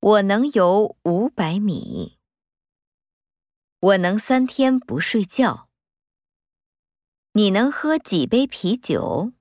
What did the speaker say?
我能游500米。我能3天不睡觉。你能喝几杯啤酒？